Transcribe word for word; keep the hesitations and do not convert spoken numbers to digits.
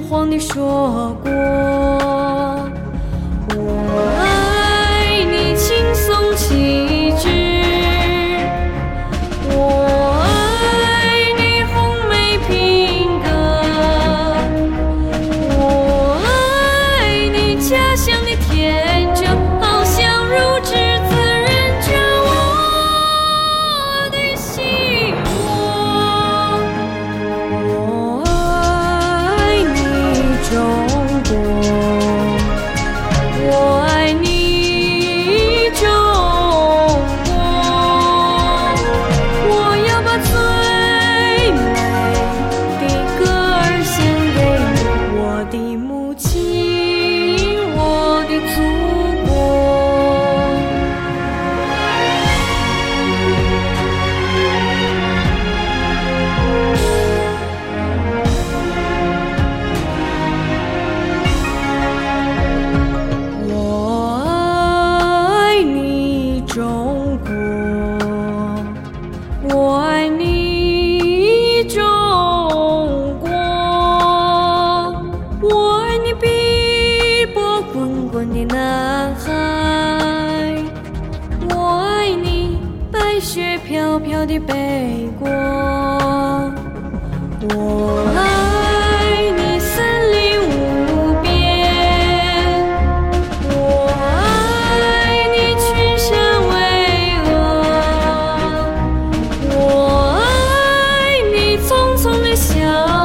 谎地说过，我爱你轻松气质，我爱你红梅品格，我爱你家乡的天真，好像如稚滋润着我的心窝。我爱你中国，我爱你中国，我要把最美的歌儿献给你，我的母亲，我的祖国。我爱你中国，我爱你中国，我爱你碧波滚滚的南海，我爱你白雪飘飘的北国，我爱你森林无边，我爱你群山巍峨，我爱你匆匆的小